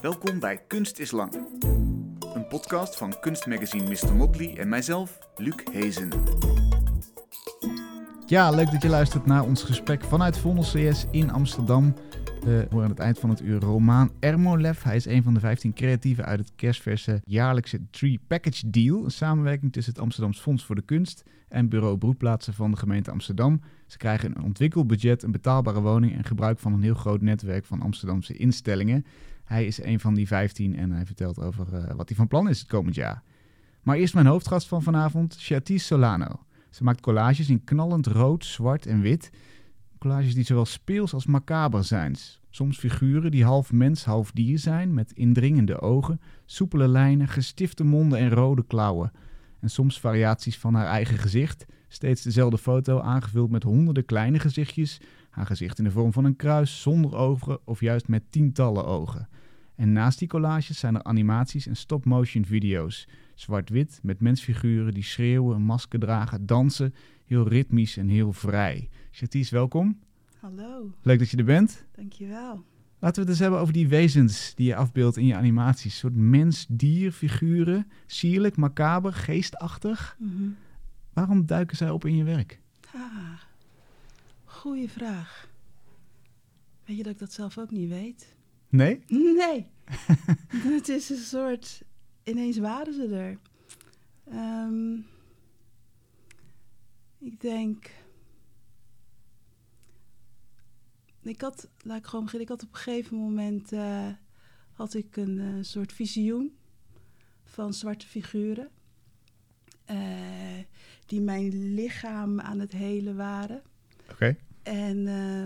Welkom bij Kunst is Lang. Een podcast van kunstmagazine Mr. Motley en mijzelf, Luc Hezen. Ja, leuk dat je luistert naar ons gesprek vanuit Vondel CS in Amsterdam. We horen aan het eind van het uur Romaan Ermolef. Hij is een van de 15 creatieven uit het kerstverse jaarlijkse Tree Package Deal. Een samenwerking tussen het Amsterdams Fonds voor de Kunst en Bureau Broedplaatsen van de gemeente Amsterdam. Ze krijgen een ontwikkelbudget, een betaalbare woning en gebruik van een heel groot netwerk van Amsterdamse instellingen. Hij is een van die 15 en hij vertelt over wat hij van plan is het komend jaar. Maar eerst mijn hoofdgast van vanavond, Chartice Solano. Ze maakt collages in knallend rood, zwart en wit. Collages die zowel speels als macaber zijn. Soms figuren die half mens, half dier zijn, met indringende ogen, soepele lijnen, gestifte monden en rode klauwen. En soms variaties van haar eigen gezicht. Steeds dezelfde foto, aangevuld met honderden kleine gezichtjes. Haar gezicht in de vorm van een kruis, zonder ogen of juist met tientallen ogen. En naast die collages zijn er animaties en stop-motion video's. Zwart-wit met mensfiguren die schreeuwen, een masker dragen, dansen. Heel ritmisch en heel vrij. Chartice, welkom. Hallo. Leuk dat je er bent. Dankjewel. Laten we het eens hebben over die wezens die je afbeeldt in je animaties. Een soort mens-dier-figuren. Sierlijk, macaber, geestachtig. Mm-hmm. Waarom duiken zij op in je werk? Goeie vraag. Weet je dat ik dat zelf ook niet weet? Nee? Nee. Het is een soort... Ineens waren ze er. Ik denk... Laat ik gewoon beginnen. Ik had op een gegeven moment... had ik een soort visioen van zwarte figuren. Die mijn lichaam aan het helen waren. Oké. En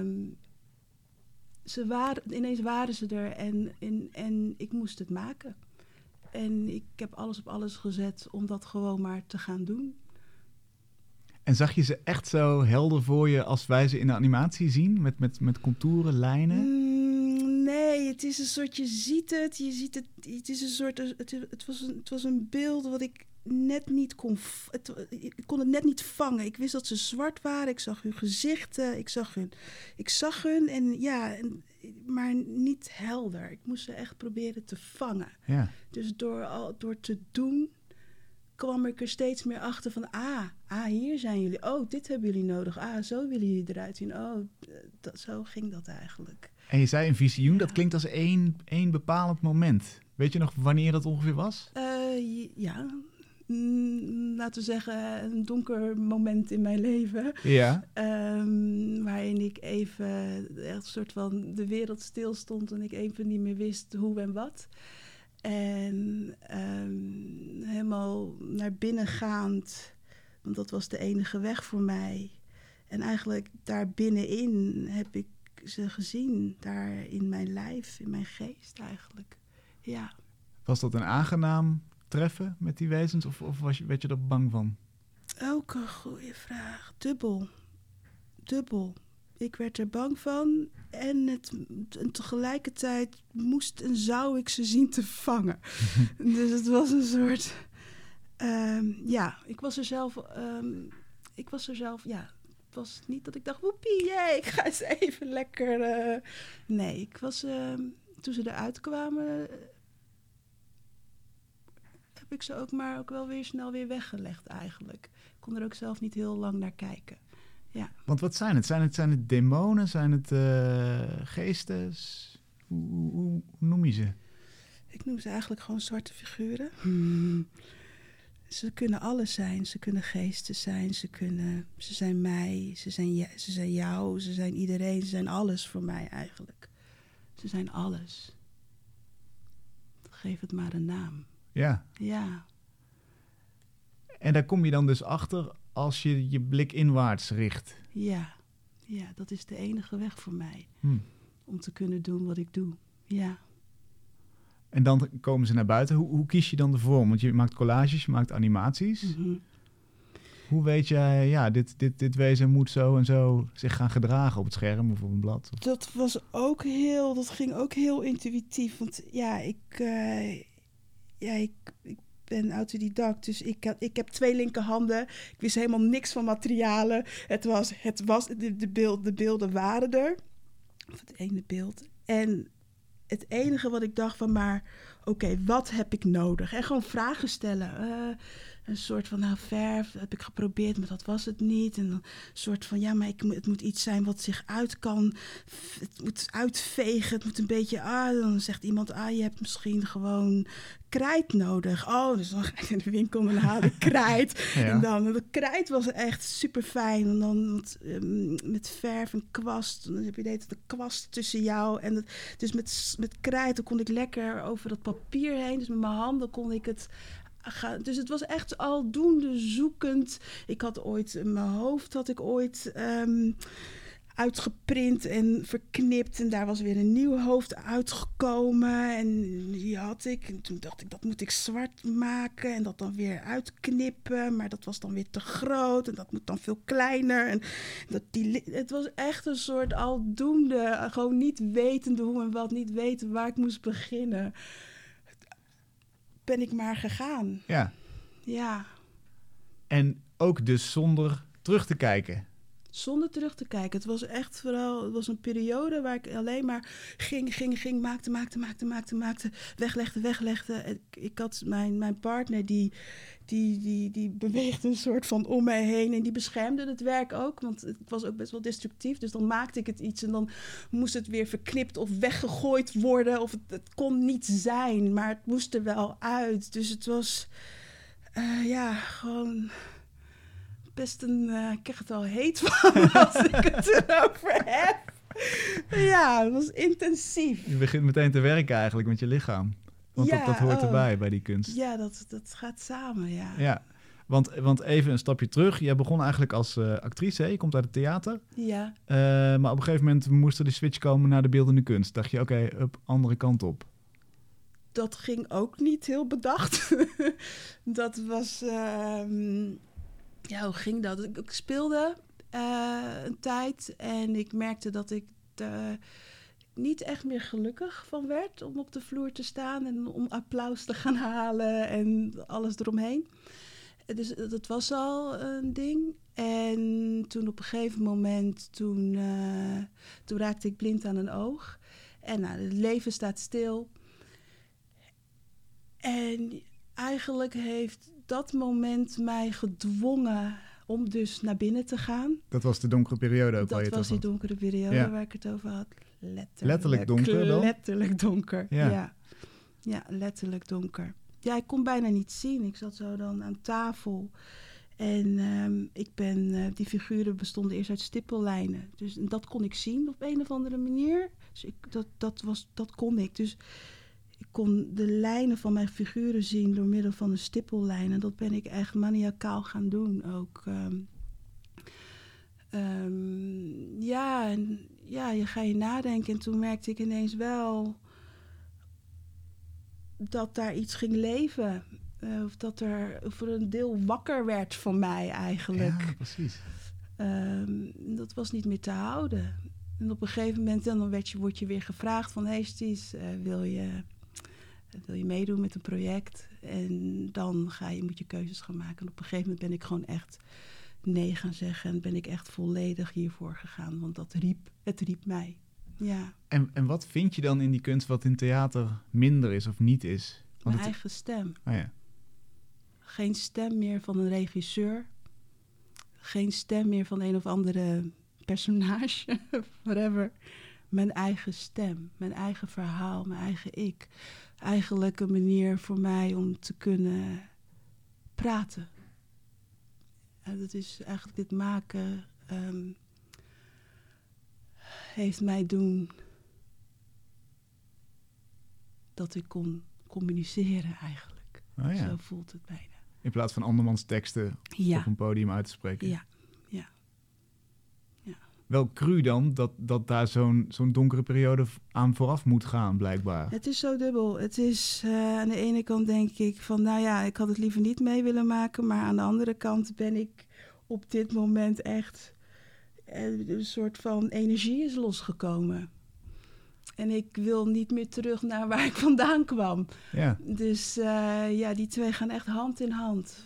ineens waren ze er en ik moest het maken. En ik heb alles op alles gezet om dat gewoon maar te gaan doen. En zag je ze echt zo helder voor je als wij ze in de animatie zien? Met contouren, lijnen? Nee, het is een soort, je ziet het, het is een soort, het was een beeld wat ik net niet kon, ik kon het net niet vangen. Ik wist dat ze zwart waren, ik zag hun gezichten, ik zag hun en ja, maar niet helder. Ik moest ze echt proberen te vangen. Ja. Dus door te doen kwam ik er steeds meer achter van, hier zijn jullie. Oh, dit hebben jullie nodig. Zo willen jullie eruit zien. Oh, zo ging dat eigenlijk. En je zei een visioen, Ja. Dat klinkt als één bepalend moment. Weet je nog wanneer dat ongeveer was? Ja, laten we zeggen een donker moment in mijn leven. Ja. Waarin ik even echt een soort van de wereld stilstond en ik even niet meer wist hoe en wat. En helemaal naar binnen gaand, want dat was de enige weg voor mij. En eigenlijk daar binnenin heb ik ze gezien, daar in mijn lijf, in mijn geest eigenlijk. Ja. Was dat een aangenaam treffen met die wezens of werd je er bang van? Ook een goede vraag. Dubbel. Ik werd er bang van en tegelijkertijd moest en zou ik ze zien te vangen. Dus het was een soort... ik was er zelf... Het was niet dat ik dacht, woepie, jee, ik ga eens even lekker... Nee, ik was... toen ze eruit kwamen... heb ik ze ook wel weer snel weer weggelegd eigenlijk. Ik kon er ook zelf niet heel lang naar kijken. Ja. Want wat zijn het? Zijn het demonen? Zijn het geesten? Hoe noem je ze? Ik noem ze eigenlijk gewoon zwarte figuren. Ze kunnen alles zijn. Ze kunnen geesten zijn. Ze zijn mij. Ze zijn jou. Ze zijn iedereen. Ze zijn alles voor mij eigenlijk. Ze zijn alles. Geef het maar een naam. Ja. Ja. En daar kom je dan dus achter als je je blik inwaarts richt. Ja, dat is de enige weg voor mij. Om te kunnen doen wat ik doe. Ja. En dan komen ze naar buiten. Hoe kies je dan de vorm? Want je maakt collages, je maakt animaties. Mm-hmm. Hoe weet jij, dit wezen moet zo en zo zich gaan gedragen op het scherm of op een blad? Dat ging ook heel intuïtief. Want ik ben autodidact, dus ik heb 2 linkerhanden. Ik wist helemaal niks van materialen. De beelden waren er. Of het ene beeld. En het enige wat ik dacht van, maar oké, wat heb ik nodig? En gewoon vragen stellen. Een soort van, verf heb ik geprobeerd, maar dat was het niet. En een soort van, ja, maar het moet iets zijn wat zich uit kan. Het moet uitvegen, het moet een beetje... dan zegt iemand, je hebt misschien gewoon krijt nodig. Dus dan ga ik in de winkel en dan haal ik krijt. Ja. En dan, de krijt was echt super fijn. En dan met verf en kwast. Dan heb je de kwast tussen jou. En dus met krijt, dan kon ik lekker over dat papier heen. Dus met mijn handen kon ik het... Dus het was echt aldoende zoekend. Ik had ooit in mijn hoofd uitgeprint en verknipt. En daar was weer een nieuw hoofd uitgekomen. En die had ik. En toen dacht ik, dat moet ik zwart maken. En dat dan weer uitknippen. Maar dat was dan weer te groot. En dat moet dan veel kleiner. En het was echt een soort aldoende. Gewoon niet wetende hoe en wat. Niet weten waar ik moest beginnen. Ben ik maar gegaan. Ja. En ook dus zonder terug te kijken. Zonder terug te kijken. Het was echt vooral... Het was een periode waar ik alleen maar ging, maakte, weglegde. Ik had mijn partner die beweegde een soort van om mij heen. En die beschermde het werk ook. Want het was ook best wel destructief. Dus dan maakte ik het iets. En dan moest het weer verknipt of weggegooid worden. Of het kon niet zijn. Maar het moest er wel uit. Dus het was... gewoon... best ik krijg het al heet van als ik het erover heb. Ja, het was intensief. Je begint meteen te werken eigenlijk met je lichaam. Want dat hoort erbij bij die kunst. Ja, dat gaat samen, ja. Ja, want even een stapje terug. Jij begon eigenlijk als actrice, hè? Je komt uit het theater. Ja. Maar op een gegeven moment moest er de switch komen naar de beeldende kunst. Dacht je, oké, andere kant op. Dat ging ook niet heel bedacht. Dat was... hoe ging dat? Ik speelde een tijd en ik merkte dat ik niet echt meer gelukkig van werd om op de vloer te staan en om applaus te gaan halen en alles eromheen. Dus dat was al een ding. En toen op een gegeven moment, toen raakte ik blind aan een oog. En het leven staat stil. En eigenlijk heeft dat moment mij gedwongen om dus naar binnen te gaan. Dat was de donkere periode ook. Dat was die donkere periode waar ik het over had. Letterlijk donker dan? Letterlijk donker, ja. Ja, letterlijk donker. Ja, ik kon bijna niet zien. Ik zat zo dan aan tafel. En die figuren bestonden eerst uit stippellijnen. Dus dat kon ik zien op een of andere manier. Dus dat kon ik. Dus ik kon de lijnen van mijn figuren zien door middel van een stippellijn. En dat ben ik echt maniacaal gaan doen ook. Je ga je nadenken. En toen merkte ik ineens wel dat daar iets ging leven. Of dat er voor een deel wakker werd van mij eigenlijk. Ja, precies. Dat was niet meer te houden. En op een gegeven moment dan word je weer gevraagd van... Hey Sties, wil je meedoen met een project? En dan moet je keuzes gaan maken. En op een gegeven moment ben ik gewoon echt nee gaan zeggen. En ben ik echt volledig hiervoor gegaan. Want het riep mij. Ja. En wat vind je dan in die kunst wat in theater minder is of niet is? Want mijn eigen stem. Oh ja. Geen stem meer van een regisseur. Geen stem meer van een of andere personage. Whatever. Mijn eigen stem. Mijn eigen verhaal. Mijn eigen ik. Eigenlijk een manier voor mij om te kunnen praten. En dat is eigenlijk dit maken... heeft mij doen dat ik kon communiceren eigenlijk. Oh ja. Zo voelt het bijna. In plaats van andermans teksten op een podium uit te spreken. Ja. Wel cru dan dat daar zo'n donkere periode aan vooraf moet gaan, blijkbaar. Het is zo dubbel. Het is aan de ene kant denk ik van... ik had het liever niet mee willen maken. Maar aan de andere kant ben ik op dit moment echt... een soort van energie is losgekomen. En ik wil niet meer terug naar waar ik vandaan kwam. Ja. Dus die twee gaan echt hand in hand.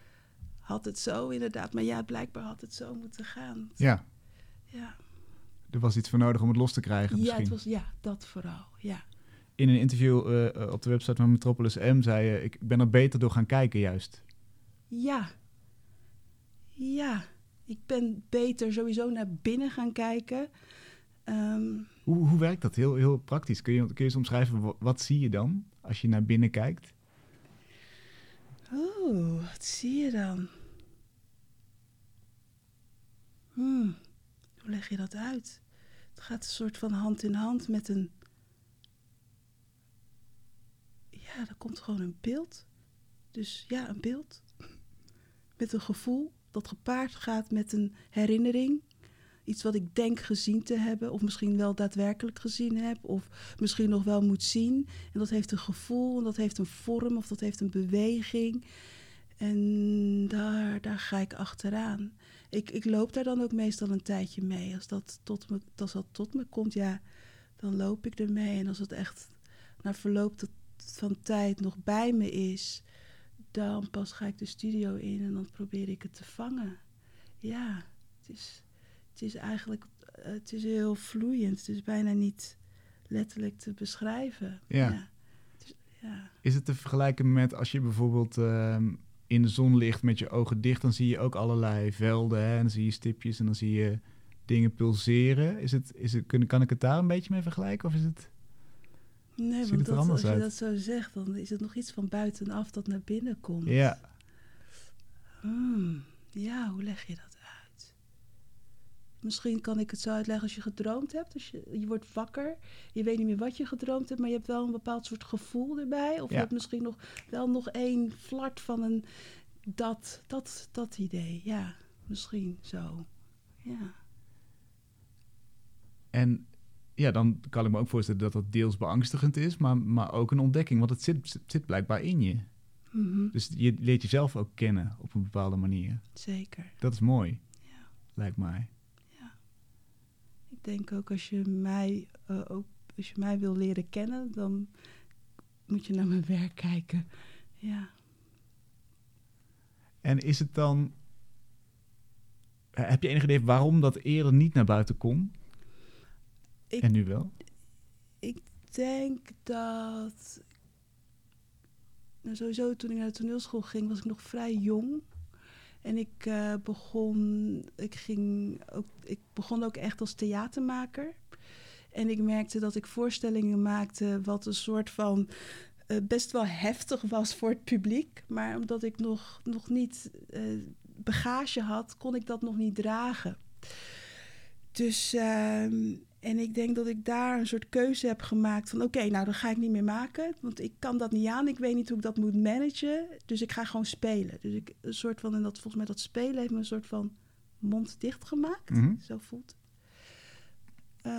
Had het zo inderdaad. Maar blijkbaar had het zo moeten gaan. Ja. Ja. Er was iets voor nodig om het los te krijgen misschien. Ja, dat vooral, ja. In een interview op de website van Metropolis M zei je... ik ben er beter door gaan kijken juist. Ja. Ja. Ik ben beter sowieso naar binnen gaan kijken. Hoe werkt dat? Heel, heel praktisch. Kun je eens omschrijven, wat zie je dan als je naar binnen kijkt? Oh, wat zie je dan? Hoe leg je dat uit? Het gaat een soort van hand in hand met een... Ja, er komt gewoon een beeld. Dus ja, een beeld. Met een gevoel dat gepaard gaat met een herinnering. Iets wat ik denk gezien te hebben. Of misschien wel daadwerkelijk gezien heb. Of misschien nog wel moet zien. En dat heeft een gevoel. En dat heeft een vorm. Of dat heeft een beweging. En daar ga ik achteraan. Ik loop daar dan ook meestal een tijdje mee. Als dat tot me komt, ja, dan loop ik ermee. En als het echt na verloop van tijd nog bij me is... dan pas ga ik de studio in en dan probeer ik het te vangen. Ja, het is eigenlijk... Het is heel vloeiend. Het is bijna niet letterlijk te beschrijven. Ja. Ja. Is het te vergelijken met als je bijvoorbeeld in de zon ligt met je ogen dicht... dan zie je ook allerlei velden, hè? En dan zie je stipjes en dan zie je dingen pulseren. Kan ik het daar een beetje mee vergelijken? Of is het... Nee, want als je dat zo zegt, dan is het nog iets van buitenaf dat naar binnen komt. Ja. Ja, hoe leg je dat uit? Misschien kan ik het zo uitleggen als je gedroomd hebt. Als je wordt wakker, je weet niet meer wat je gedroomd hebt... maar je hebt wel een bepaald soort gevoel erbij. Of je hebt misschien nog één flart van een... Dat idee, ja. Misschien zo, ja. En... ja, dan kan ik me ook voorstellen dat dat deels beangstigend is... maar ook een ontdekking, want het zit blijkbaar in je. Mm-hmm. Dus je leert jezelf ook kennen op een bepaalde manier. Zeker. Dat is mooi, ja. Lijkt mij. Ja. Ik denk ook als je mij wil leren kennen... dan moet je naar mijn werk kijken. Ja. En is het dan... heb je enig idee waarom dat eerder niet naar buiten kon... En nu wel? Ik denk dat... Nou, sowieso toen ik naar de toneelschool ging, was ik nog vrij jong. En ik begon ook echt als theatermaker. En ik merkte dat ik voorstellingen maakte wat een soort van... best wel heftig was voor het publiek. Maar omdat ik nog niet bagage had, kon ik dat nog niet dragen. Dus... En ik denk dat ik daar een soort keuze heb gemaakt van... oké, nou, dan ga ik niet meer maken. Want ik kan dat niet aan. Ik weet niet hoe ik dat moet managen. Dus ik ga gewoon spelen. Dus een soort van... En volgens mij dat spelen heeft me een soort van mond dicht gemaakt. Mm-hmm. Zo voelt het.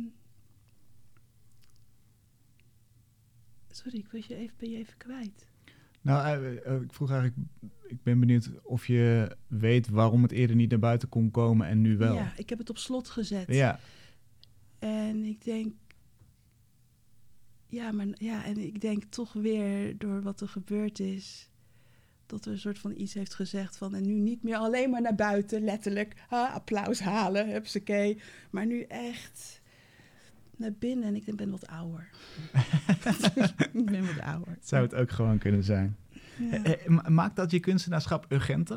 Sorry, ben je even kwijt. Nou, ik vroeg eigenlijk... Ik ben benieuwd of je weet waarom het eerder niet naar buiten kon komen en nu wel. Ja, ik heb het op slot gezet. Ja. En ik denk... en ik denk toch weer door wat er gebeurd is... dat er een soort van iets heeft gezegd van... en nu niet meer alleen maar naar buiten, letterlijk... applaus halen, hupsakee. Maar nu echt naar binnen en ik ben wat ouder. Ik ben wat ouder. Zou het ook gewoon kunnen zijn. Ja. Maakt dat je kunstenaarschap urgenter?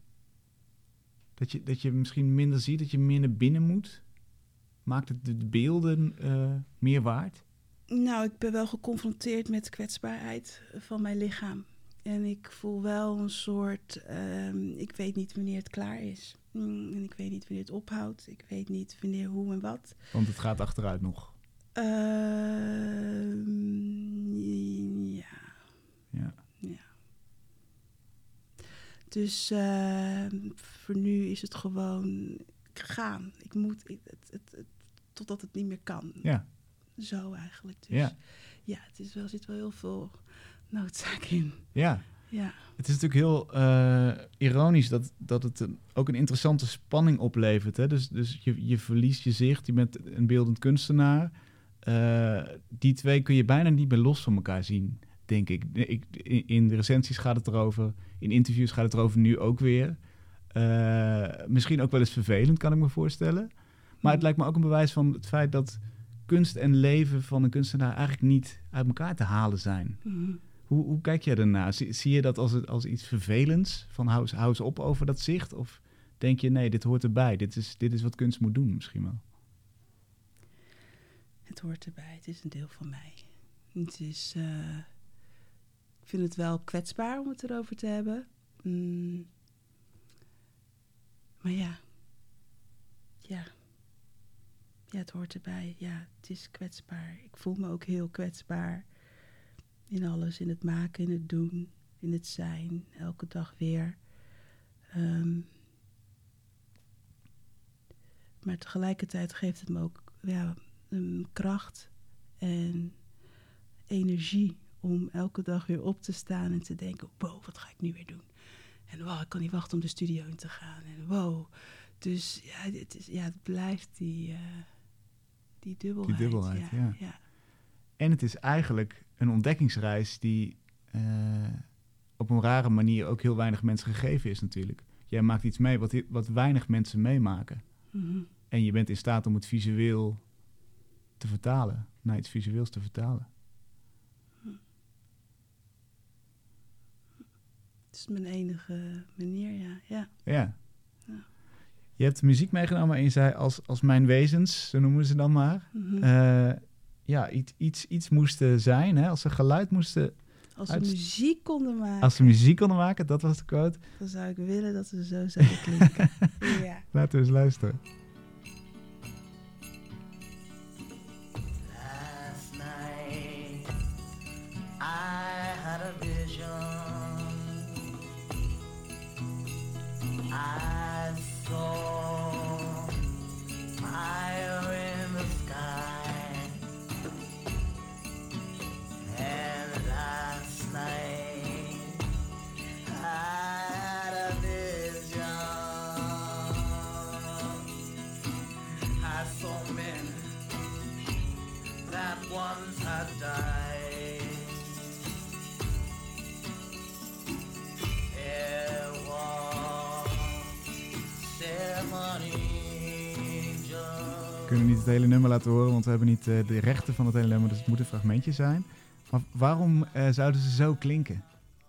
Dat je misschien minder ziet, dat je meer naar binnen moet? Maakt het de beelden meer waard? Nou, ik ben wel geconfronteerd met de kwetsbaarheid van mijn lichaam. En ik voel wel een soort... ik weet niet wanneer het klaar is. En ik weet niet wanneer het ophoudt. Ik weet niet wanneer, hoe en wat. Want het gaat achteruit nog. Ja. Dus voor nu is het gewoon gaan. Ik moet totdat het niet meer kan. Ja. Zo eigenlijk. Dus ja, er zit wel heel veel noodzaak in. Ja. Ja. Het is natuurlijk heel ironisch dat het ook een interessante spanning oplevert. Hè? Dus je verliest je zicht, je bent een beeldend kunstenaar. Die twee kun je bijna niet meer los van elkaar zien, denk ik. In de recensies gaat het erover, in interviews gaat het erover, nu ook weer. Misschien ook wel eens vervelend, kan ik me voorstellen. Maar het lijkt me ook een bewijs van het feit dat kunst en leven van een kunstenaar eigenlijk niet uit elkaar te halen zijn. Mm. Hoe kijk jij daarna? Zie je dat als iets vervelends? Van hou eens op over dat zicht? Of denk je, nee, dit hoort erbij. Dit is wat kunst moet doen misschien wel. Het hoort erbij. Het is een deel van mij. Het is... ik vind het wel kwetsbaar om het erover te hebben. Maar ja. Ja, het hoort erbij. Ja, het is kwetsbaar. Ik voel me ook heel kwetsbaar. In alles. In het maken, in het doen. In het zijn. Elke dag weer. Maar tegelijkertijd geeft het me ook kracht en energie om elke dag weer op te staan en te denken, wow, wat ga ik nu weer doen? En wow, ik kan niet wachten om de studio in te gaan. En wow, dus het blijft die dubbelheid. Die dubbelheid, ja. En het is eigenlijk een ontdekkingsreis die op een rare manier ook heel weinig mensen gegeven is natuurlijk. Jij maakt iets mee wat weinig mensen meemaken. Mm-hmm. En je bent in staat om het visueel te vertalen, naar iets visueels te vertalen. Het is mijn enige manier, ja. Ja. Je hebt muziek meegenomen en je zei als mijn wezens, zo noemen ze dan maar. Mm-hmm. Iets moesten zijn, hè? Als ze geluid moesten... Als ze muziek konden maken. Als ze muziek konden maken, dat was de quote. Dan zou ik willen dat ze zo zouden klinken. Ja. Laten we eens luisteren. Last night I had a vision. I saw fire in the sky. And last night I had a vision. I saw men that once had died. It was 7 angels. We kunnen niet het hele nummer laten horen, want we hebben niet de rechten van het hele nummer, dus het moet een fragmentje zijn. Maar waarom zouden ze zo klinken?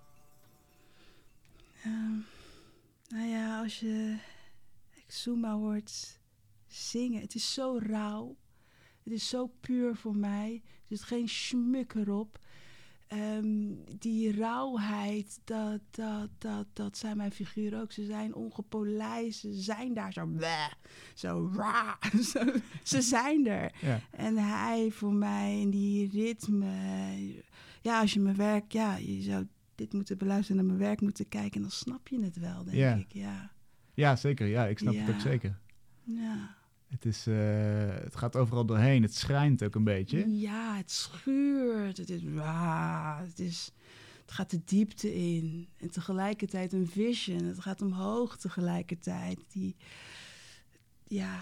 Als je Exuma hoort zingen, het is zo rauw. Het is zo puur voor mij. Er zit geen schmuk erop. Die rauwheid, dat zijn mijn figuren ook. Ze zijn ongepolijst, ze zijn daar zo bleh, zo raar. Ze zijn er. Ja. En hij voor mij en die ritme. Ja, als je mijn werk, je zou dit moeten beluisteren, naar mijn werk moeten kijken en dan snap je het wel, denk ik. Ja, zeker. Ja, ik snap het ook zeker. Ja. Het gaat overal doorheen. Het schrijnt ook een beetje. Ja, het schuurt. Het gaat de diepte in. En tegelijkertijd een vision. Het gaat omhoog tegelijkertijd. Ja.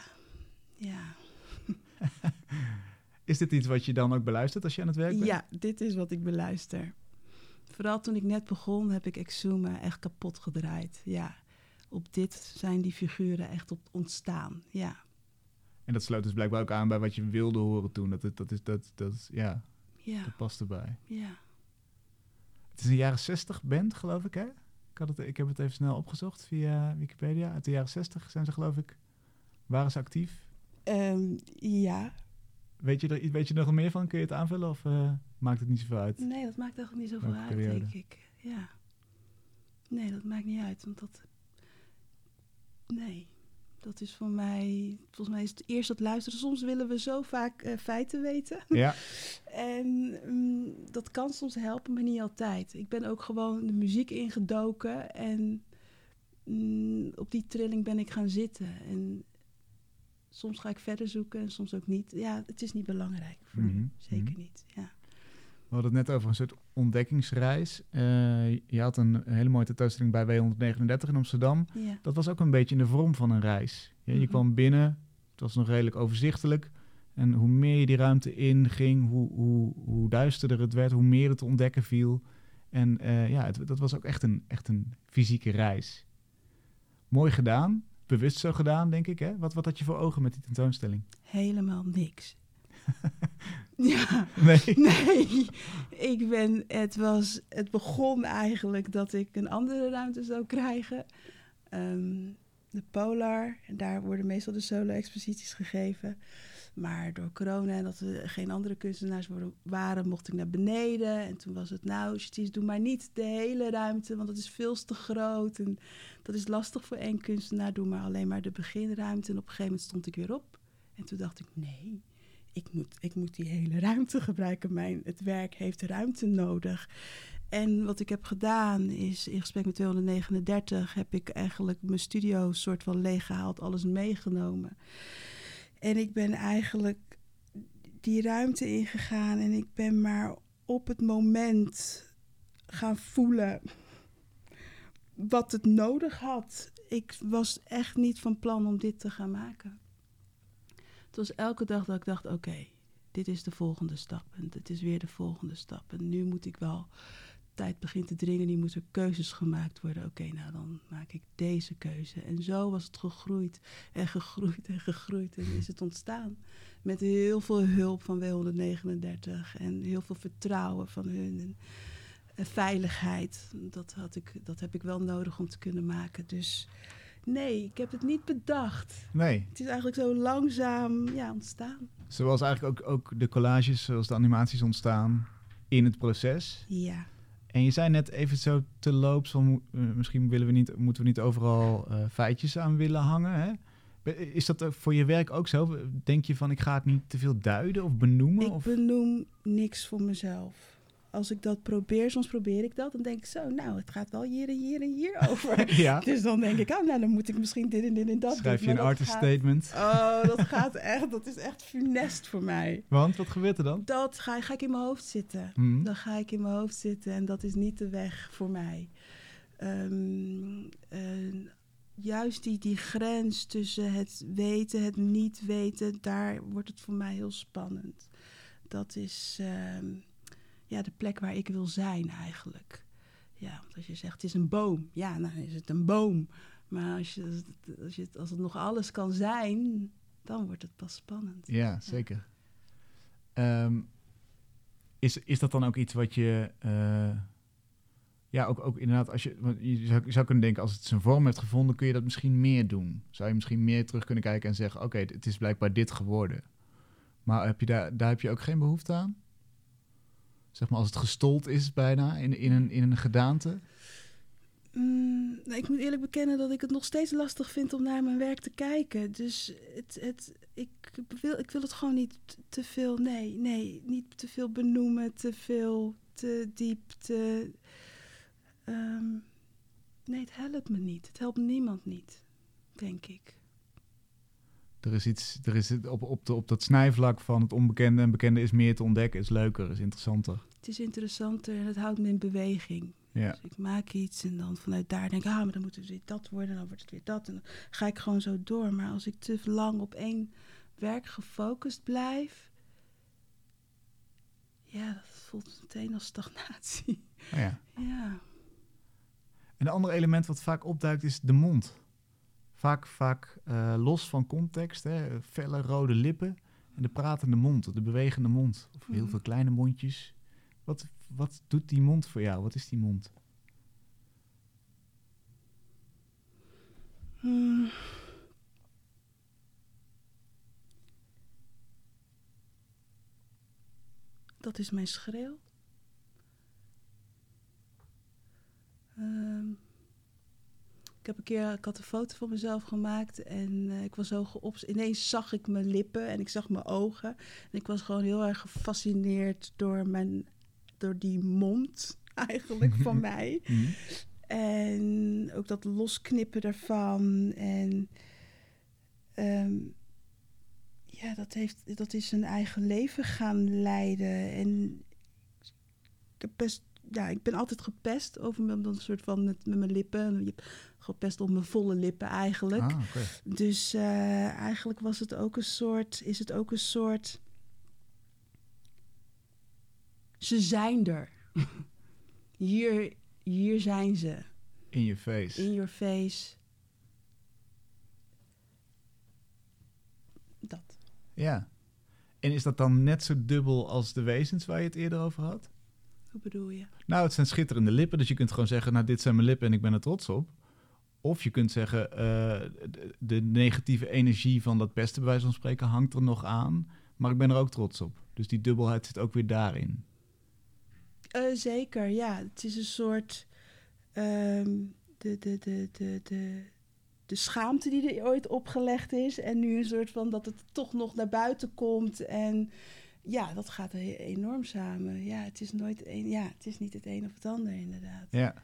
Is dit iets wat je dan ook beluistert als je aan het werk bent? Ja, dit is wat ik beluister. Vooral toen ik net begon, heb ik Exuma echt kapot gedraaid. Ja, op dit zijn die figuren echt op ontstaan. Ja. En dat sloot dus blijkbaar ook aan bij wat je wilde horen toen. Dat past erbij. Ja. Het is een jaren 60 band, geloof ik, hè? Ik heb het even snel opgezocht via Wikipedia. Uit de jaren 60 zijn ze, geloof ik, waren ze actief? Ja. Weet je er nog meer van? Kun je het aanvullen of maakt het niet zoveel uit? Nee, dat maakt eigenlijk niet zoveel Welke uit, periode? denk ik. Ja. Nee, dat maakt niet uit, want dat is voor mij... Volgens mij is het eerst dat luisteren. Soms willen we zo vaak feiten weten. Ja. En dat kan soms helpen, maar niet altijd. Ik ben ook gewoon de muziek ingedoken en op die trilling ben ik gaan zitten. En soms ga ik verder zoeken en soms ook niet. Ja, het is niet belangrijk voor nu. Zeker niet, ja. We hadden het net over een soort ontdekkingsreis. Je had een hele mooie tentoonstelling bij W139 in Amsterdam. Ja. Dat was ook een beetje in de vorm van een reis. Je kwam binnen, het was nog redelijk overzichtelijk. En hoe meer je die ruimte in ging, hoe duisterder het werd, hoe meer het te ontdekken viel. En dat was ook echt een fysieke reis. Mooi gedaan. bewust zo gedaan, denk ik. Hè? Wat had je voor ogen met die tentoonstelling? Helemaal niks. Ja, Nee. het begon eigenlijk dat ik een andere ruimte zou krijgen. De Polar, en daar worden meestal de solo-exposities gegeven. Maar door corona en dat er geen andere kunstenaars waren, mocht ik naar beneden. En toen was het, nou, Jeties, doe maar niet de hele ruimte, want dat is veel te groot. En dat is lastig voor één kunstenaar, doe maar alleen maar de beginruimte. En op een gegeven moment stond ik weer op. En toen dacht ik, nee, ik moet die hele ruimte gebruiken. Het werk heeft ruimte nodig. En wat ik heb gedaan is, in gesprek met 239... heb ik eigenlijk mijn studio soort van leeggehaald, alles meegenomen. En ik ben eigenlijk die ruimte ingegaan en ik ben maar op het moment gaan voelen wat het nodig had. Ik was echt niet van plan om dit te gaan maken. Het was elke dag dat ik dacht, oké, dit is de volgende stap. En dit is weer de volgende stap. En nu moet ik wel, tijd begint te dringen, nu moeten keuzes gemaakt worden. Oké, nou dan maak ik deze keuze. En zo was het gegroeid en gegroeid en gegroeid. En is het ontstaan. Met heel veel hulp van W139 en heel veel vertrouwen van hun. En veiligheid, dat heb ik wel nodig om te kunnen maken. Dus nee, ik heb het niet bedacht. Nee. Het is eigenlijk zo langzaam ontstaan. Zoals eigenlijk ook de collages, zoals de animaties ontstaan in het proces. Ja. En je zei net even zo te loops van misschien moeten we niet overal feitjes aan willen hangen. Hè? Is dat voor je werk ook zo? Denk je van ik ga het niet te veel duiden of benoemen? Ik benoem niks voor mezelf. Als ik dat probeer, soms probeer ik dat, dan denk ik zo, nou, het gaat wel hier en hier en hier over. Ja. Dus dan denk ik, dan moet ik misschien dit en dit en dat Schrijf doen. je een artist statement? Oh, dat is echt funest voor mij. Want, wat gebeurt er dan? Dat ga ik in mijn hoofd zitten. Dan ga ik in mijn hoofd zitten en dat is niet de weg voor mij. Juist die grens tussen het weten, het niet weten, daar wordt het voor mij heel spannend. Dat is de plek waar ik wil zijn eigenlijk. Ja, want als je zegt het is een boom, ja, dan is het een boom. Maar als het nog alles kan zijn, dan wordt het pas spannend. Ja, zeker. Is dat dan ook iets wat je... ook inderdaad, als je zou kunnen denken, als het zijn vorm heeft gevonden, kun je dat misschien meer doen. Zou je misschien meer terug kunnen kijken en zeggen, oké, het is blijkbaar dit geworden. Maar daar heb je ook geen behoefte aan? Zeg maar als het gestold is bijna in een gedaante? Ik moet eerlijk bekennen dat ik het nog steeds lastig vind om naar mijn werk te kijken. Dus ik wil het gewoon niet te veel, niet te veel benoemen, te diep, nee, het helpt me niet. Het helpt niemand niet, denk ik. Er is op dat snijvlak van het onbekende en bekende is meer te ontdekken, is leuker, is interessanter. Het is interessanter en het houdt me in beweging. Ja. Dus ik maak iets en dan vanuit daar denk ik, maar dan moet het weer dat worden en dan wordt het weer dat. En dan ga ik gewoon zo door. Maar als ik te lang op één werk gefocust blijf, ja, dat voelt meteen als stagnatie. Oh ja. Ja. Een ander element wat vaak opduikt is de mond. Vaak los van context, hè, felle rode lippen en de pratende mond, de bewegende mond. Of heel veel kleine mondjes. Wat doet die mond voor jou? Wat is die mond? Dat is mijn schreeuw. Ik had een foto van mezelf gemaakt en ik was zo ineens zag ik mijn lippen en ik zag mijn ogen. En ik was gewoon heel erg gefascineerd door die mond eigenlijk van mij. En ook dat losknippen daarvan. En dat is een eigen leven gaan leiden. En ik ben altijd gepest over een soort van met mijn lippen. Je hebt gepest op mijn volle lippen eigenlijk. Ah, okay. Dus eigenlijk is het ook een soort. Ze zijn er. Hier zijn ze. In je face. In your face. Ja. En is dat dan net zo dubbel als de wezens waar je het eerder over had? Hoe bedoel je? Nou, het zijn schitterende lippen, dus je kunt gewoon zeggen, nou, dit zijn mijn lippen en ik ben er trots op. Of je kunt zeggen, de negatieve energie van dat pesten, bij wijze van spreken, hangt er nog aan, maar ik ben er ook trots op. Dus die dubbelheid zit ook weer daarin. Zeker, ja. Het is een soort... de schaamte die er ooit opgelegd is. En nu een soort van dat het toch nog naar buiten komt. En ja, dat gaat enorm samen. Ja, het is nooit het is niet het een of het ander, inderdaad. Ja.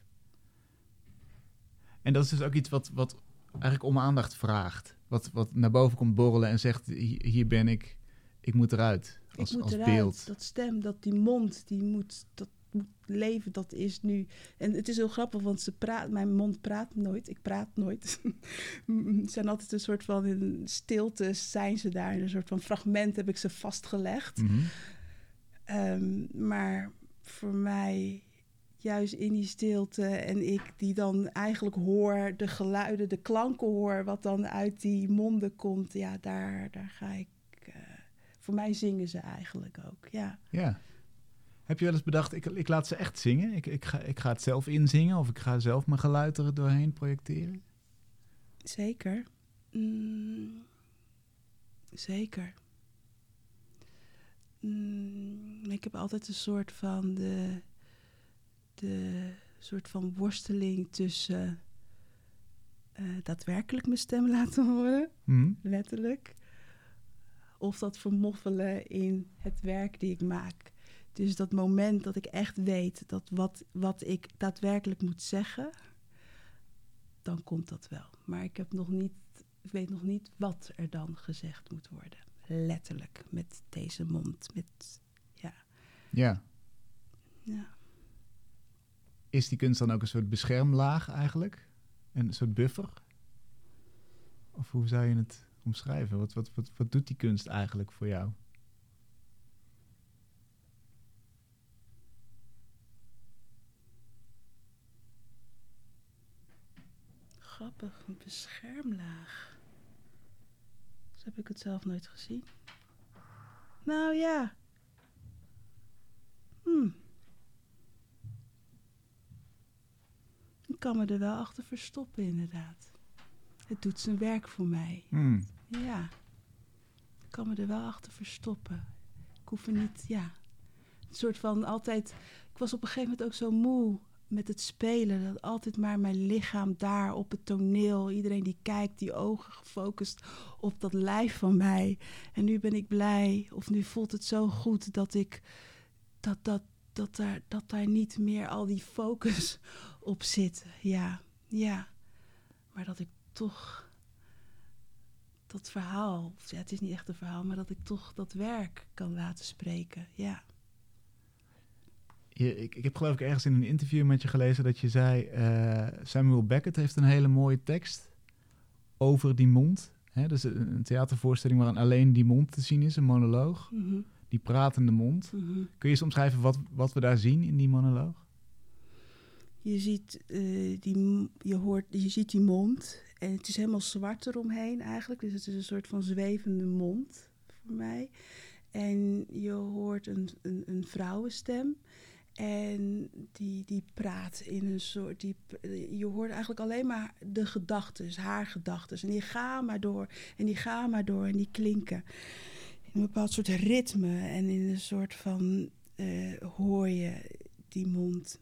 En dat is dus ook iets wat eigenlijk om aandacht vraagt. Wat naar boven komt borrelen en zegt, hier ben ik moet eruit. Als beeld. Dat stem, die mond, dat moet leven, dat is nu. En het is heel grappig, want mijn mond praat nooit. Ik praat nooit. Het zijn altijd een soort van, in stilte zijn ze daar. In een soort van fragment heb ik ze vastgelegd. Mm-hmm. Maar voor mij, juist in die stilte en ik die dan eigenlijk hoor, de geluiden, de klanken hoor, wat dan uit die monden komt. Ja, daar ga ik... voor mij zingen ze eigenlijk ook, ja. Ja. Heb je wel eens bedacht, ik laat ze echt zingen? Ik ga het zelf inzingen of ik ga zelf mijn geluid er doorheen projecteren? Zeker. Zeker. Ik heb altijd een soort van de soort van worsteling tussen daadwerkelijk mijn stem laten horen, letterlijk, of dat vermoffelen in het werk die ik maak. Dus dat moment dat ik echt weet dat wat ik daadwerkelijk moet zeggen, dan komt dat wel. Maar ik weet nog niet wat er dan gezegd moet worden. Letterlijk, met deze mond. Ja. Ja. Is die kunst dan ook een soort beschermlaag eigenlijk? Een soort buffer? Of hoe zou je het omschrijven? Wat doet die kunst eigenlijk voor jou? Grappig, een beschermlaag. Zo heb ik het zelf nooit gezien. Nou ja. Ik kan me er wel achter verstoppen, inderdaad. Het doet zijn werk voor mij. Ja. Ik kan me er wel achter verstoppen. Ik hoef er niet, Een soort van altijd... Ik was op een gegeven moment ook zo moe met het spelen. Dat altijd maar mijn lichaam daar op het toneel. Iedereen die kijkt, die ogen gefocust op dat lijf van mij. En nu ben ik blij, of nu voelt het zo goed dat ik... Dat daar niet meer al die focus op zit. Ja. Maar dat ik toch dat verhaal... Ja, het is niet echt een verhaal, maar dat ik toch dat werk kan laten spreken. Ja. Ik heb geloof ik ergens in een interview met je gelezen dat je zei... Samuel Beckett heeft een hele mooie tekst over die mond. Hè? Dus een theatervoorstelling waarin alleen die mond te zien is, een monoloog. Mm-hmm. Die pratende mond. Mm-hmm. Kun je eens omschrijven wat we daar zien in die monoloog? Je ziet, je ziet die mond en het is helemaal zwart eromheen eigenlijk. Dus het is een soort van zwevende mond voor mij. En je hoort een vrouwenstem en die praat in een soort... je hoort eigenlijk alleen maar de gedachtes, haar gedachtes. En die gaan maar door en die gaan maar door en die klinken. In een bepaald soort ritme en in een soort van hoor je die mond.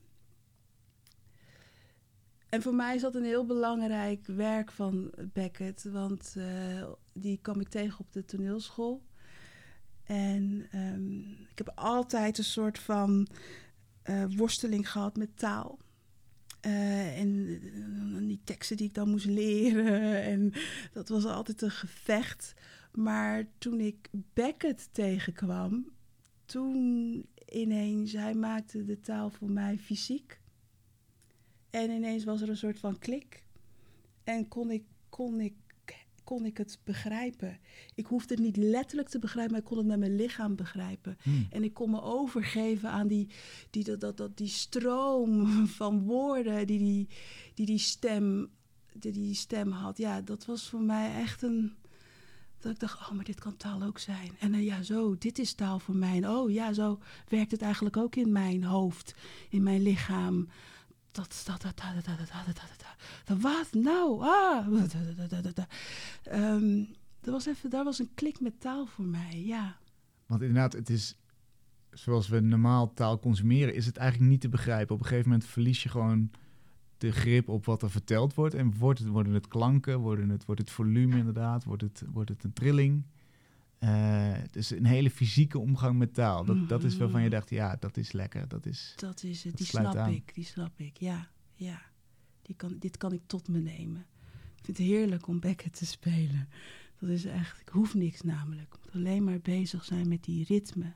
En voor mij is dat een heel belangrijk werk van Beckett, want die kwam ik tegen op de toneelschool. En ik heb altijd een soort van worsteling gehad met taal. En die teksten die ik dan moest leren. En dat was altijd een gevecht. Maar toen ik Beckett tegenkwam, toen ineens, hij maakte de taal voor mij fysiek. En ineens was er een soort van klik. En kon ik het begrijpen. Ik hoefde het niet letterlijk te begrijpen, maar ik kon het met mijn lichaam begrijpen. En ik kon me overgeven aan die stroom van woorden die stem had. Ja, dat was voor mij echt Dat ik dacht, maar dit kan taal ook zijn. En ja, zo, dit is taal voor mij. En ja, zo werkt het eigenlijk ook in mijn hoofd, in mijn lichaam. Wat nou? Daar was een klik met taal voor mij, ja. Want inderdaad, het is, zoals we normaal taal consumeren, is het eigenlijk niet te begrijpen. Op een gegeven moment verlies je gewoon de grip op wat er verteld wordt. En worden het klanken, wordt het volume inderdaad, wordt het een trilling. Dus een hele fysieke omgang met taal. Dat is waarvan je dacht, ja, dat is lekker. Dat is het, die snap ik, ja. Dit kan ik tot me nemen. Ik vind het heerlijk om bekken te spelen. Dat is echt, ik hoef niks namelijk. Ik moet alleen maar bezig zijn met die ritme.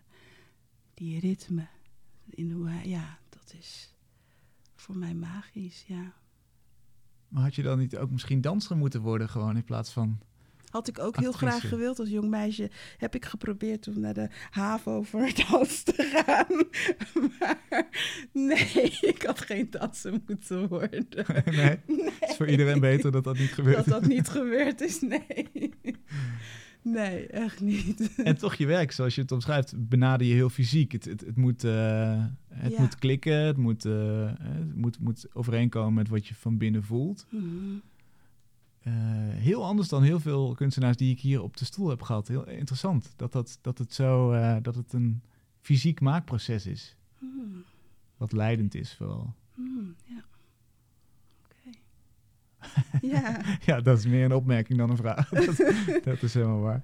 Dat is voor mij magisch, ja. Maar had je dan niet ook misschien danser moeten worden gewoon in plaats van... Had ik ook heel graag gewild als jong meisje. Heb ik geprobeerd om naar de HAVO voor het dans te gaan. Maar nee, ik had geen danser moeten worden. Nee? Het is voor iedereen beter dat niet gebeurt. Dat niet gebeurd is, nee. Nee, echt niet. En toch je werk, zoals je het omschrijft, benader je heel fysiek. Het moet klikken, het moet overeenkomen met wat je van binnen voelt. Mm-hmm. Heel anders dan heel veel kunstenaars die ik hier op de stoel heb gehad. Heel interessant dat het een fysiek maakproces is. Wat leidend is vooral. Ja. Oké. Ja. Ja, dat is meer een opmerking dan een vraag. Dat is helemaal waar.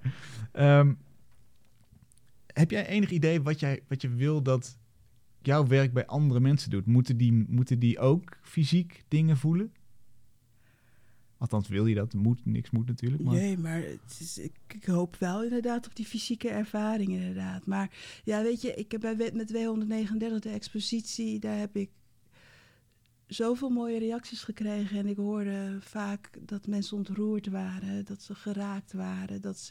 Heb jij enig idee wat je wil dat jouw werk bij andere mensen doet? Moeten die ook fysiek dingen voelen? Althans, wil je dat? Niks moet natuurlijk. Maar... Nee, maar ik hoop wel inderdaad op die fysieke ervaring inderdaad. Maar ja, weet je, ik heb met W139 de expositie, daar heb ik zoveel mooie reacties gekregen. En ik hoorde vaak dat mensen ontroerd waren, dat ze geraakt waren, dat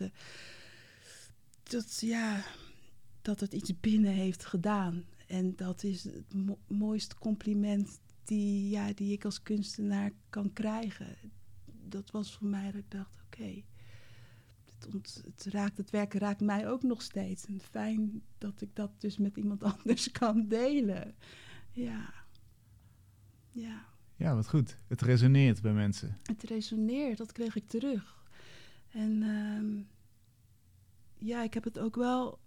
het iets binnen heeft gedaan. En dat is het mooiste compliment die ik als kunstenaar kan krijgen. Dat was voor mij dat ik dacht, oké, het werk raakt mij ook nog steeds. En fijn dat ik dat dus met iemand anders kan delen. Ja. Ja. Ja, wat goed. Het resoneert bij mensen. Het resoneert, dat kreeg ik terug. En ik heb het ook wel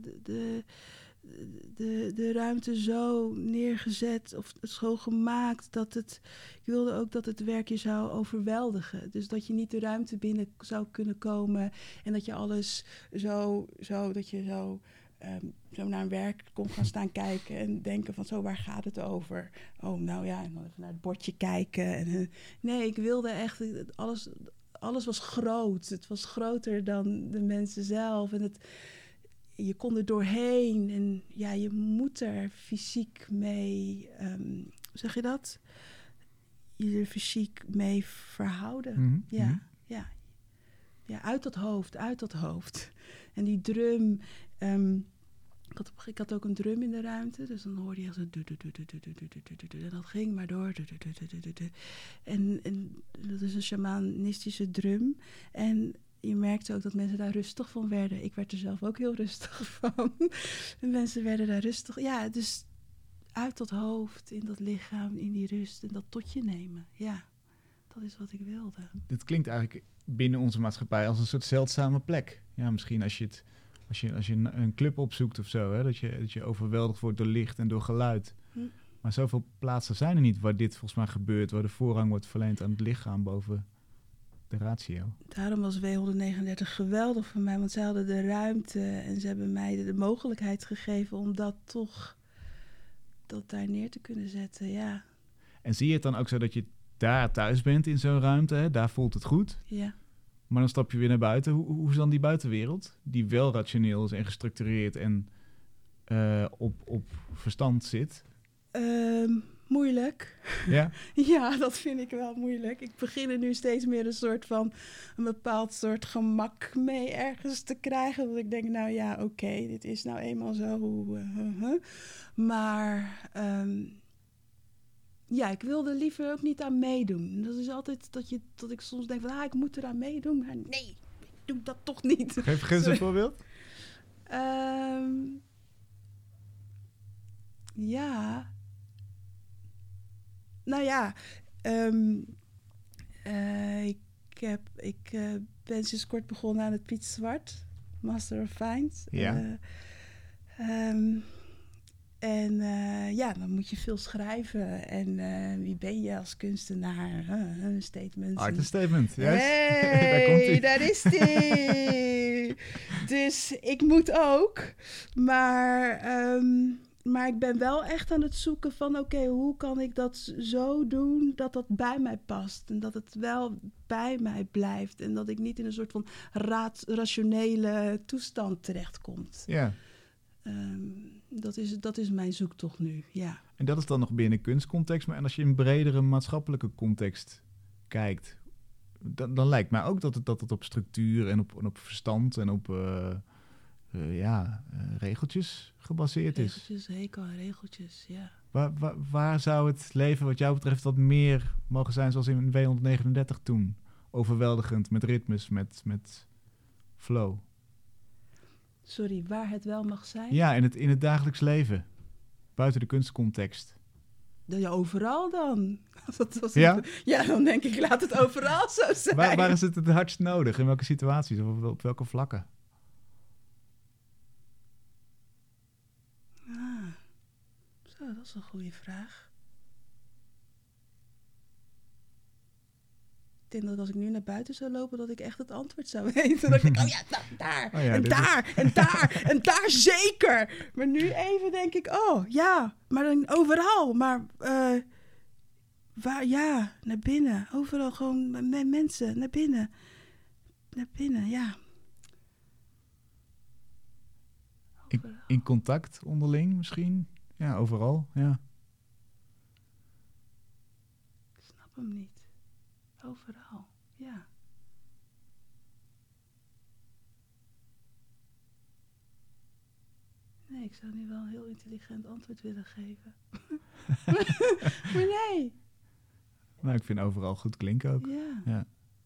de ruimte zo neergezet of zo gemaakt dat ik wilde ook dat het werk je zou overweldigen. Dus dat je niet de ruimte binnen zou kunnen komen en dat je alles zo naar een werk kon gaan staan kijken en denken van zo, waar gaat het over? Oh, nou ja, en dan even naar het bordje kijken. Nee, ik wilde echt, alles was groot. Het was groter dan de mensen zelf en je kon er doorheen en ja, je moet er fysiek mee, hoe zeg je dat? Je er fysiek mee verhouden. Mm-hmm. Ja, uit dat hoofd. En die drum, ik had ook een drum in de ruimte, dus dan hoorde je echt zo en dat ging maar door. En dat is een shamanistische drum. En je merkte ook dat mensen daar rustig van werden. Ik werd er zelf ook heel rustig van. En mensen werden daar rustig. Ja, dus uit dat hoofd, in dat lichaam, in die rust en dat tot je nemen. Ja, dat is wat ik wilde. Dit klinkt eigenlijk binnen onze maatschappij als een soort zeldzame plek. Ja, misschien als je een club opzoekt of zo, hè, dat je overweldigd wordt door licht en door geluid. Maar zoveel plaatsen zijn er niet waar dit volgens mij gebeurt, waar de voorrang wordt verleend aan het lichaam boven de ratio. Daarom was W139 geweldig voor mij, want ze hadden de ruimte en ze hebben mij de mogelijkheid gegeven om dat daar neer te kunnen zetten, ja. En zie je het dan ook zo dat je daar thuis bent in zo'n ruimte, hè? Daar voelt het goed? Ja. Maar dan stap je weer naar buiten. Hoe is dan die buitenwereld, die wel rationeel is en gestructureerd en op verstand zit? Moeilijk. Ja? Ja, dat vind ik wel moeilijk. Ik begin er nu steeds meer een bepaald soort gemak mee ergens te krijgen. Dat ik denk, nou ja, oké, dit is nou eenmaal zo. Maar ik wil er liever ook niet aan meedoen. Dat is altijd dat ik soms denk van, ik moet eraan meedoen. Maar nee, doe dat toch niet. Geef eens een voorbeeld. Ja. Nou ja. Ik ben sinds kort begonnen aan het Piet Zwart. Master of Fines. Ja. Dan moet je veel schrijven. En wie ben je als kunstenaar? Een statement. Art and statement, juist. Hey, daar is die. Dus ik moet ook. Maar ik ben wel echt aan het zoeken van... oké, hoe kan ik dat zo doen dat dat bij mij past? En dat het wel bij mij blijft. En dat ik niet in een soort van rationele toestand terechtkomt. Ja. Dat is mijn zoektocht nu, ja. En dat is dan nog binnen kunstcontext. Maar en als je in een bredere maatschappelijke context kijkt... dan lijkt mij ook dat het op structuur en op verstand en op regeltjes gebaseerd is. Regeltjes, hekel aan regeltjes, ja. Waar zou het leven wat jou betreft wat meer mogen zijn zoals in W139 toen? Overweldigend, met ritmes, met flow. Sorry, waar het wel mag zijn? Ja, in het dagelijks leven. Buiten de kunstcontext. Ja, overal dan. Ja? Ja, dan denk ik, laat het overal zo zijn. Waar is het hardst nodig? In welke situaties? Of op welke vlakken? Zo, dat is een goede vraag. Ik denk dat als ik nu naar buiten zou lopen, dat ik echt het antwoord zou weten. Dat ik denk, daar, en daar zeker. Maar nu even denk ik, maar dan overal. Maar naar binnen. Overal gewoon met mensen, naar binnen. Naar binnen, ja. In contact onderling misschien? Ja, overal, ja. Ik snap hem niet. Overal, ja. Nee, ik zou nu wel een heel intelligent antwoord willen geven. Maar nee. Nou, ik vind overal goed klinken ook. Ja.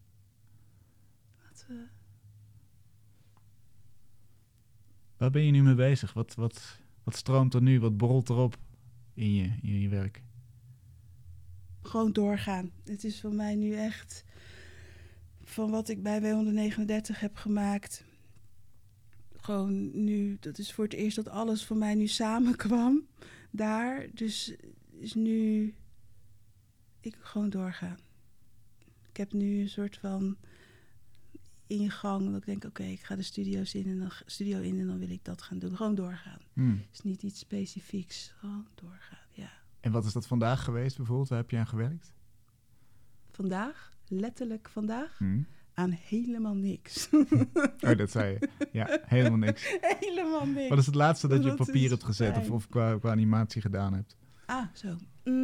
Waar ben je nu mee bezig? Wat stroomt er nu? Wat borrelt erop in je werk? Gewoon doorgaan. Het is voor mij nu echt... van wat ik bij W139 heb gemaakt... gewoon nu... dat is voor het eerst dat alles voor mij nu samenkwam. Daar. Dus is nu... ik gewoon doorgaan. Ik heb nu een soort van... ingang. Dat ik denk, oké, ik ga de studio in en dan wil ik dat gaan doen. Gewoon doorgaan. Het is niet iets specifieks. Gewoon doorgaan, ja. En wat is dat vandaag geweest bijvoorbeeld? Waar heb je aan gewerkt? Vandaag? Letterlijk vandaag? Aan helemaal niks. Oh, dat zei je. Ja, helemaal niks. Helemaal niks. Wat is het laatste dat je op papier hebt gezet of qua animatie gedaan hebt? Ah, zo.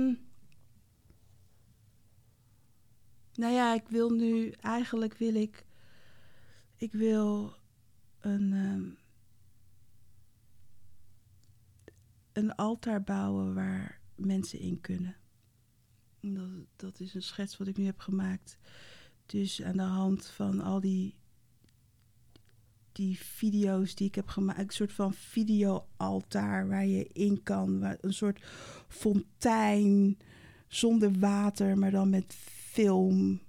Nou ja, ik wil nu... eigenlijk wil ik... ik wil een altaar bouwen waar mensen in kunnen. Dat is een schets wat ik nu heb gemaakt. Dus aan de hand van al die video's die ik heb gemaakt, een soort van videoaltaar waar je in kan, een soort fontein zonder water, maar dan met film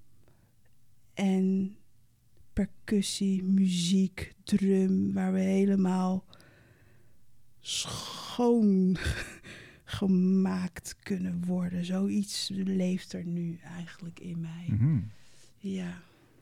en percussie, muziek, drum, waar we helemaal schoon gemaakt kunnen worden. Zoiets leeft er nu eigenlijk in mij. Mm-hmm. Ja.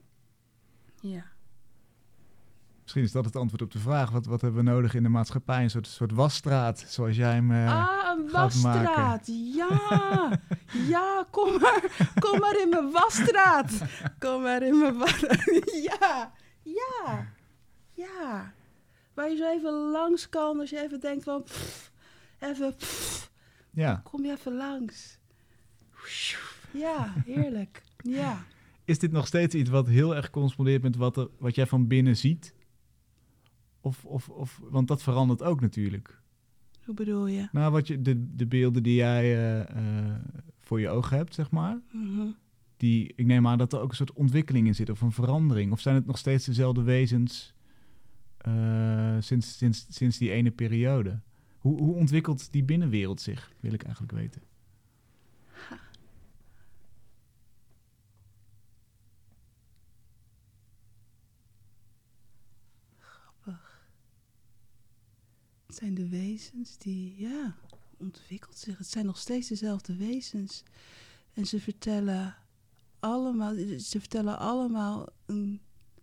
Misschien is dat het antwoord op de vraag. Wat hebben we nodig in de maatschappij? Een soort wasstraat, zoals jij hem een gaat wasstraat. maken. Ja. Ja, kom maar in mijn wasstraat. Kom maar in mijn wasstraat. Ja. Waar je zo even langs kan als je even denkt van... Ja. Kom je even langs. Ja, heerlijk. Ja. Is dit nog steeds iets wat heel erg correspondeert met wat jij van binnen ziet? Of want dat verandert ook natuurlijk. Hoe bedoel je? Nou, de beelden die jij voor je ogen hebt, zeg maar. Mm-hmm. ik neem aan dat er ook een soort ontwikkeling in zit of een verandering. Of zijn het nog steeds dezelfde wezens sinds die ene periode? Hoe ontwikkelt die binnenwereld zich, wil ik eigenlijk weten. Grappig. Het zijn de wezens die, ontwikkelt zich. Het zijn nog steeds dezelfde wezens. En ze vertellen allemaal een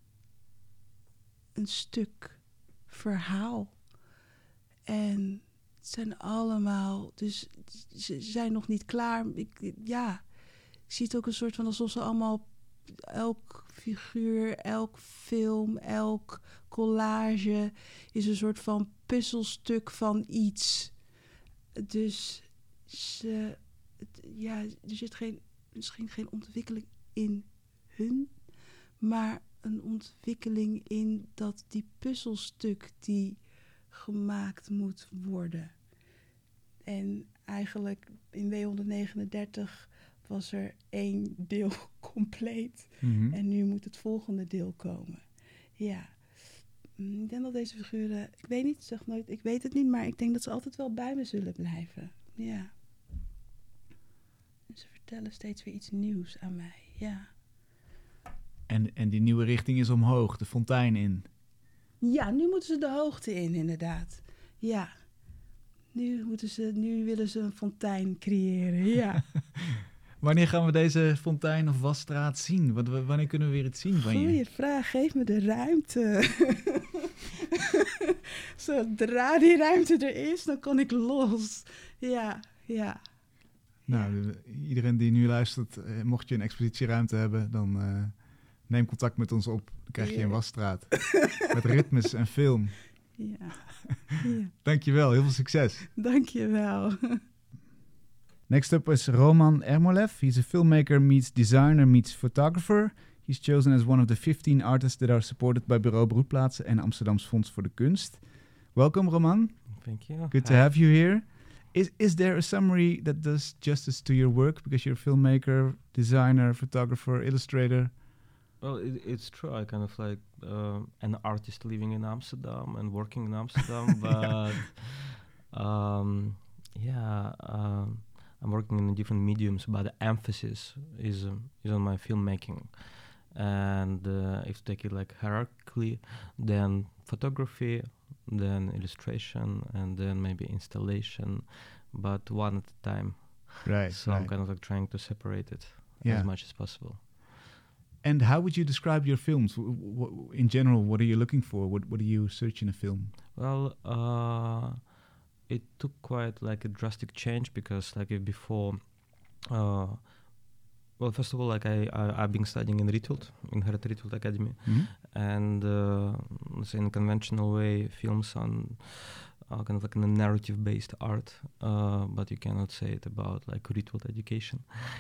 stuk verhaal. En het zijn allemaal, dus ze zijn nog niet klaar. Ik zie het ook een soort van alsof ze allemaal, elk figuur, elk film, elk collage is een soort van puzzelstuk van iets. Dus er zit misschien geen ontwikkeling in hun, maar een ontwikkeling in dat die puzzelstuk die gemaakt moet worden. En eigenlijk in W139 was er 1 deel compleet. Mm-hmm. En nu moet het volgende deel komen. Ja. Ik denk dat deze figuren, ik weet niet, zeg nooit, ik weet het niet, maar ik denk dat ze altijd wel bij me zullen blijven. Ja. Ze vertellen steeds weer iets nieuws aan mij, ja. En die nieuwe richting is omhoog, de fontein in. Ja, nu moeten ze de hoogte in, inderdaad. Ja. Nu willen ze een fontein creëren, ja. Wanneer gaan we deze fontein of wasstraat zien? Wanneer kunnen we weer iets zien van je? Goeie vraag, geef me de ruimte. Zodra die ruimte er is, dan kan ik los. Ja. Nou, iedereen die nu luistert, mocht je een expositieruimte hebben, dan neem contact met ons op. Dan krijg je een wasstraat. Met ritmes en film. Ja. Dankjewel, heel veel succes. Dankjewel. Next up is Roman Ermolev. He's a filmmaker meets designer meets photographer. He's chosen as one of the 15 artists that are supported by Bureau Broedplaatsen en Amsterdams Fonds voor de Kunst. Welcome, Roman. Thank you. Good to have you here. Is there a summary that does justice to your work? Because you're a filmmaker, designer, photographer, illustrator. Well, it's true. I kind of like an artist living in Amsterdam and working in Amsterdam, but I'm working in different mediums, but the emphasis is on my filmmaking. And if you take it like hierarchically, then photography, then illustration, and then maybe installation, but one at a time. Right. So I'm kind of like trying to separate it Yeah. as much as possible. And how would you describe your films? In general, what are you looking for? What do you search in a film? Well, it took quite like a drastic change because like before, well, first of all, like I've been studying in Rietveld, in Gerrit Rietveld Academy, Mm-hmm. and let's say in a conventional way, films are kind of like a narrative-based art, but you cannot say it about like Rietveld education.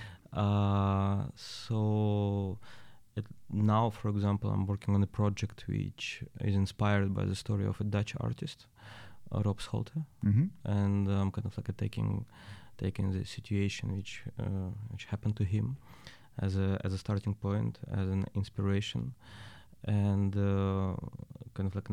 So now, for example, I'm working on a project which is inspired by the story of a Dutch artist, Rob Scholte, Mm-hmm. and I'm kind of like taking the situation which happened to him as a starting point, as an inspiration, and kind of like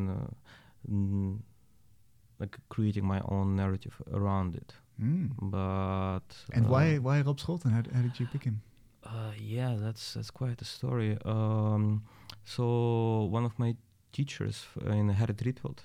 like creating my own narrative around it. Mm. But And why Rob Scholten? How did you pick him? Yeah, that's quite a story. So one of my teachers in Gerrit Rietveld,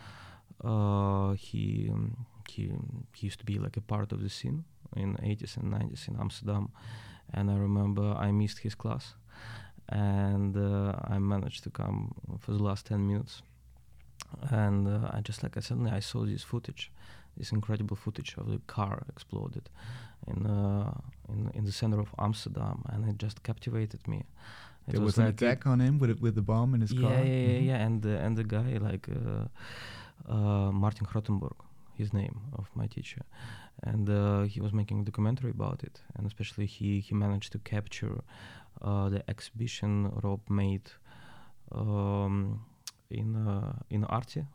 he used to be like a part of the scene in 80s and 90s in Amsterdam, and I remember I missed his class, and I managed to come for the last 10 minutes, and suddenly I saw this incredible footage of the car exploded in the center of Amsterdam, and it just captivated me. There was an attack on him with the bomb in his car. Yeah, and the guy like Martin Grottenburg, his name of my teacher, and he was making a documentary about it, and especially he managed to capture the exhibition Rob made in Artie,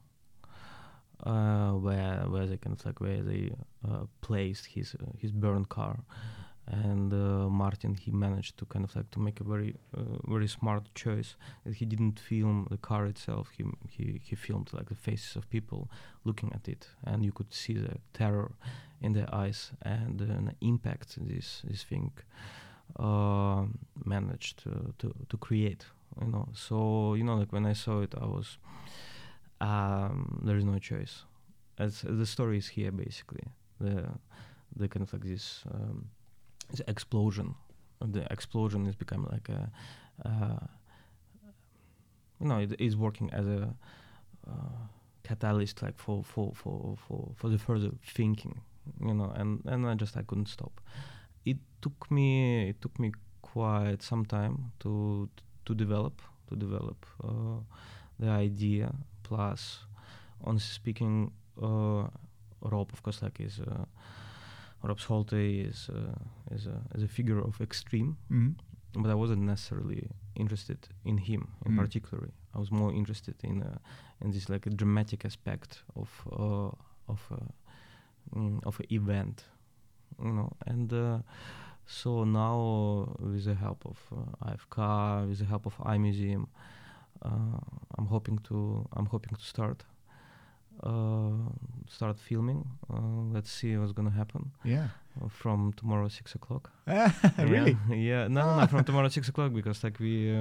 where they kind of like where they placed his burned car, and Martin, he managed to kind of like to make a very smart choice that he didn't film the car itself. He filmed like the faces of people looking at it, and you could see the terror in their eyes and the impact this thing managed to create. So like when I saw it, I was there is no choice. As the story is here, basically the kind of like this explosion. The explosion is becoming like it is working as a catalyst, like for the further thinking, and I couldn't stop. It took me quite some time to develop the idea. Plus, honestly speaking, Rob, of course, like is Rob Scholte is a figure of extreme, but I wasn't necessarily interested in him in particular. I was more interested in this like a dramatic aspect of an event, and so now with the help of IFK, with the help of iMuseum, I'm hoping to start filming. Let's see what's gonna happen. Yeah. From tomorrow 6 o'clock. Really? Yeah. No, from tomorrow 6 o'clock, because like we,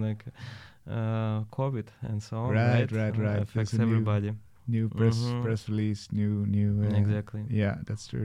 COVID and so on. Right. Affects There's a everybody. New press release, new. Exactly. Yeah, that's true.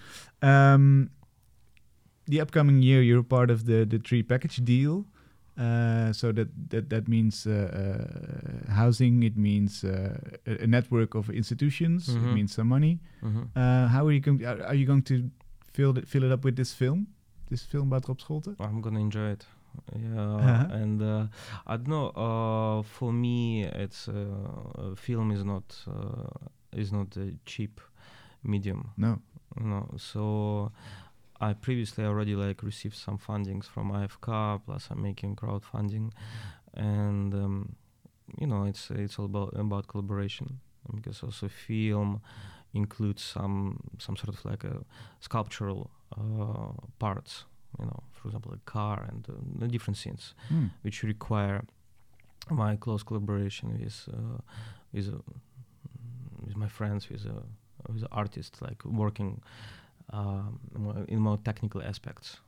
The upcoming year, you're part of the Tree package deal. So that means housing. It means a network of institutions. It means some money. How are you going to fill it up with this film about Rob Scholte? I'm gonna enjoy it. Yeah, and I don't know. For me, it's film is not a cheap medium. No. So I previously already like received some fundings from IFK, plus I'm making crowdfunding, and it's all about collaboration, because also film includes some sort of like a sculptural parts, for example, a car and the different scenes, which require my close collaboration with my friends, with artists, like working in more technical aspects,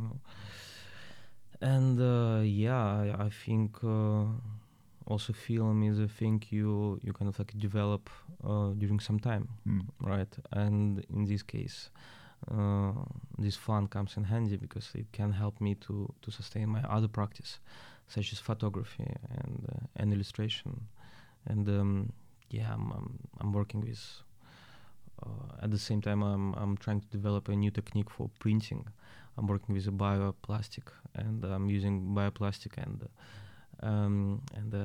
and I think also film is a thing you kind of like develop during some time, right? And in this case, this fun comes in handy because it can help me to sustain my other practice, such as photography and illustration, and I'm working with. At the same time, I'm trying to develop a new technique for printing. I'm working with a bioplastic, and I'm using bioplastic and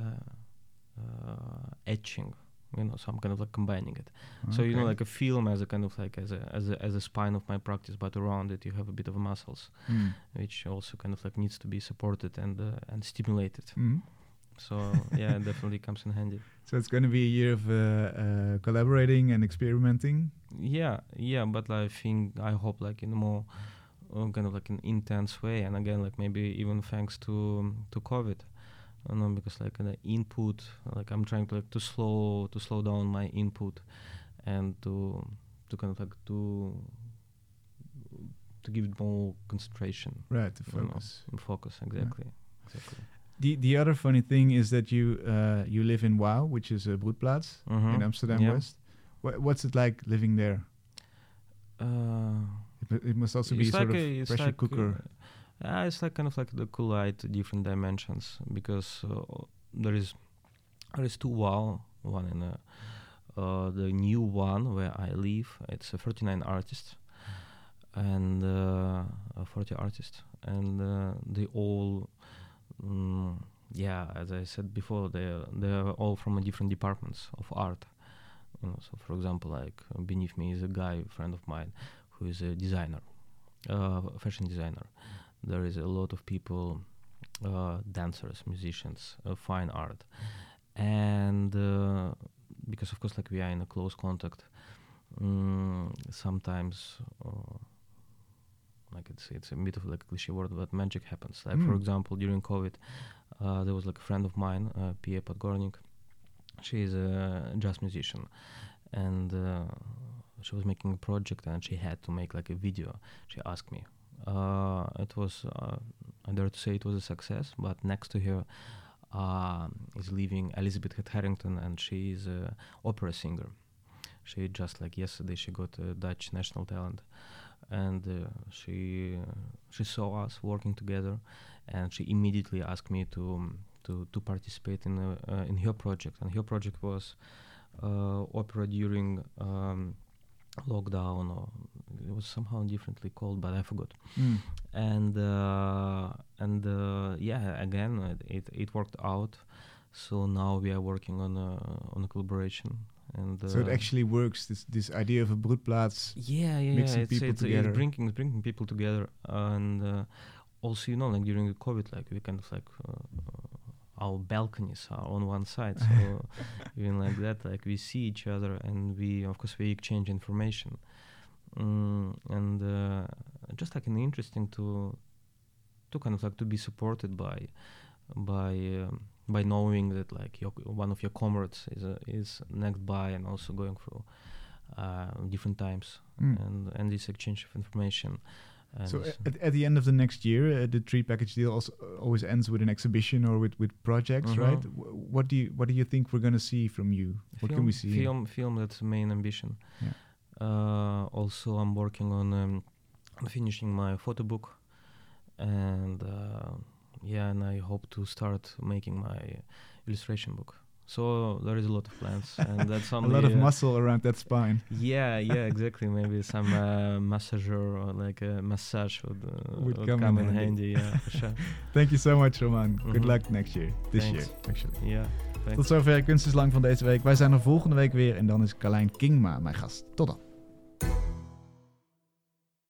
etching. So I'm kind of like combining it. Okay. So like a film as a kind of like as a spine of my practice, but around it you have a bit of muscles, which also kind of like needs to be supported and stimulated. So yeah, it definitely comes in handy. So it's going to be a year of collaborating and experimenting. Yeah, but I hope like in a more kind of like an intense way, and again like maybe even thanks to COVID, because like the input, like I'm trying to like to slow down my input, and to kind of like to give it more concentration. Right, to focus. Focus, exactly. Exactly. The other funny thing is that you live in Wouw, which is a broedplaats in Amsterdam West. What's it like living there? It must also be sort of pressure cooker. It's like kind of like the collide different dimensions, because there is two Wouw. One in the new one where I live. It's 39 artists and 40 artists, and they all. As I said before, they're all from different departments of art. So for example, like beneath me is a guy, friend of mine, who is a designer, fashion designer. There is a lot of people, dancers, musicians, fine art, and because of course, like we are in a close contact, sometimes like it's a bit of like a cliche word, but magic happens. Like for Mm. example, during COVID, there was like a friend of mine, Pia Podgornik. She is a jazz musician, and she was making a project, and she had to make like a video. She asked me. It was, I dare to say, it was a success. But next to her is living Elizabeth Harrington, and she is an opera singer. She just like yesterday she got a Dutch national talent, and she saw us working together, and she immediately asked me to participate in her project. And her project was opera during lockdown, or it was somehow differently called, but I forgot. Mm. And yeah, again it worked out. So now we are working on a collaboration. And So it actually works. This idea of a broedplaats. yeah, mixing it's, people it's, together. it's bringing people together, and also like during the COVID, like we kind of like our balconies are on one side, so even like that, like we see each other, and we exchange information, and just like interesting to kind of like to be supported by knowing that like one of your comrades is next by and also going through different times, and this exchange of information. And So at the end of the next year, the Tree Package Deal also always ends with an exhibition or with projects, Mhm. right? What do you think we're going to see from you? What can we see? Film, that's the main ambition. Yeah. Also, I'm working on finishing my photo book, and and I hope to start making my illustration book. So there is a lot of plans, and that's A only lot of muscle around that spine. Yeah, exactly. Maybe some massager or like a massage would come in handy. Yeah, for sure. Thank you so much, Roman. Good Mhm. luck next year. This Thanks. year, actually. Yeah, thanks. Tot zover Kunst is Lang van deze week. Wij zijn er volgende week weer en dan is Carlijn Kingma mijn gast. Tot dan.